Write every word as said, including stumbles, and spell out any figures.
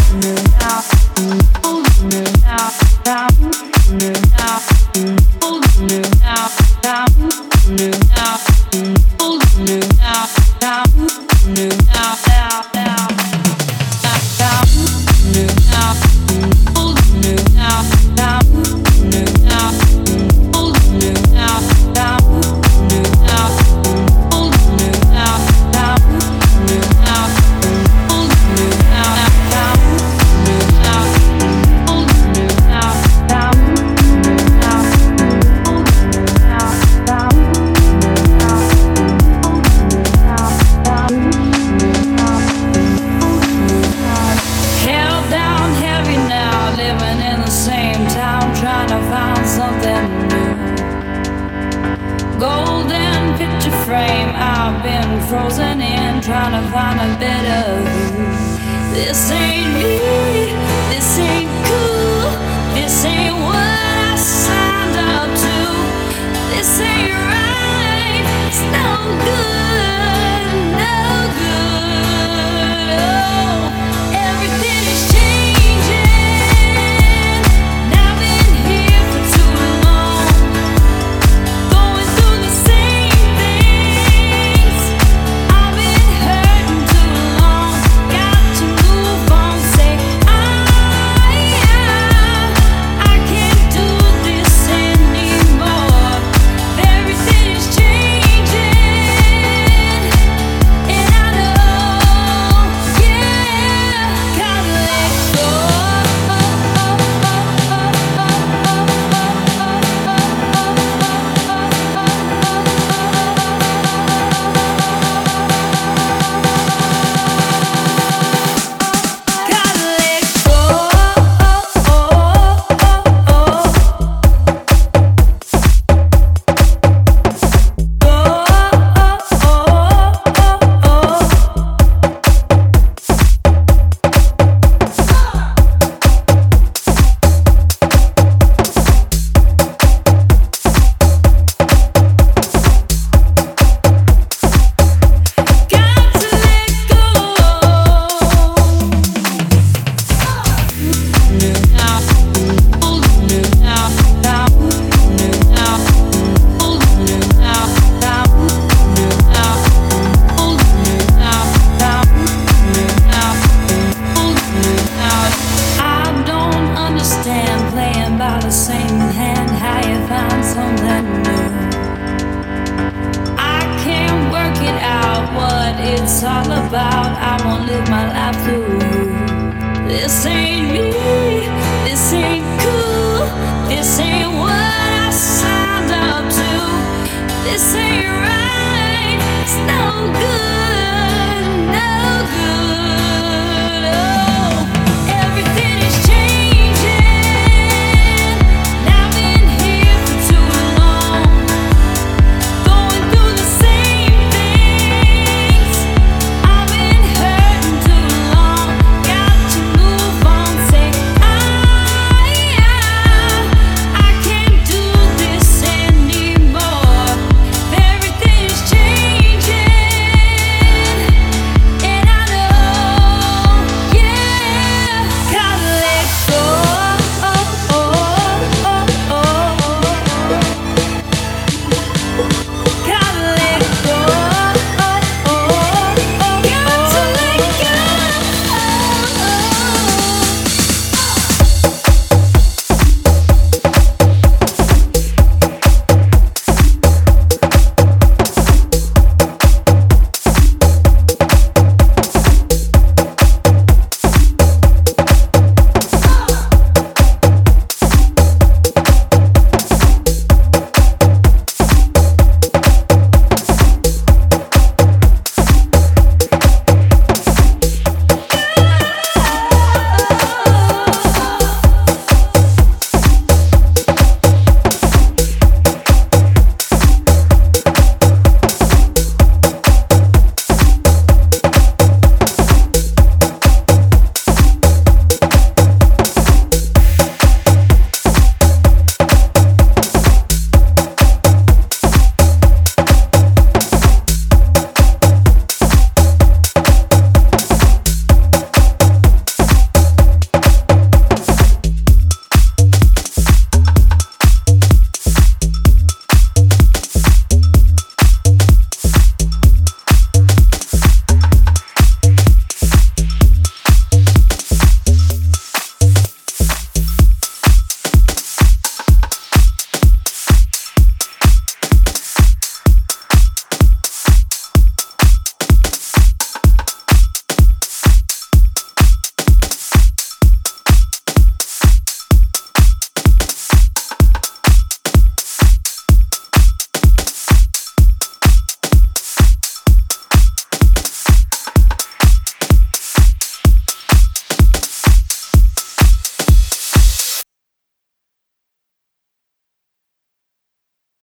Frozen in, trying to find a better view. This ain't me, this ain't cool, this ain't what I signed up to. This ain't right, it's no good, no good. Oh, everything is changing. I've been here for too long, going through the same things. I've been hurting too long, got to move on. Say I, I can't do this anymore. Everything is changing, and I know, yeah, gotta let go. Gotta let the same hand, how you find something new. I can't work it out what it's all about. I won't live my life through you. This ain't me, this ain't cool, this ain't what I signed up to. This ain't right, it's no good.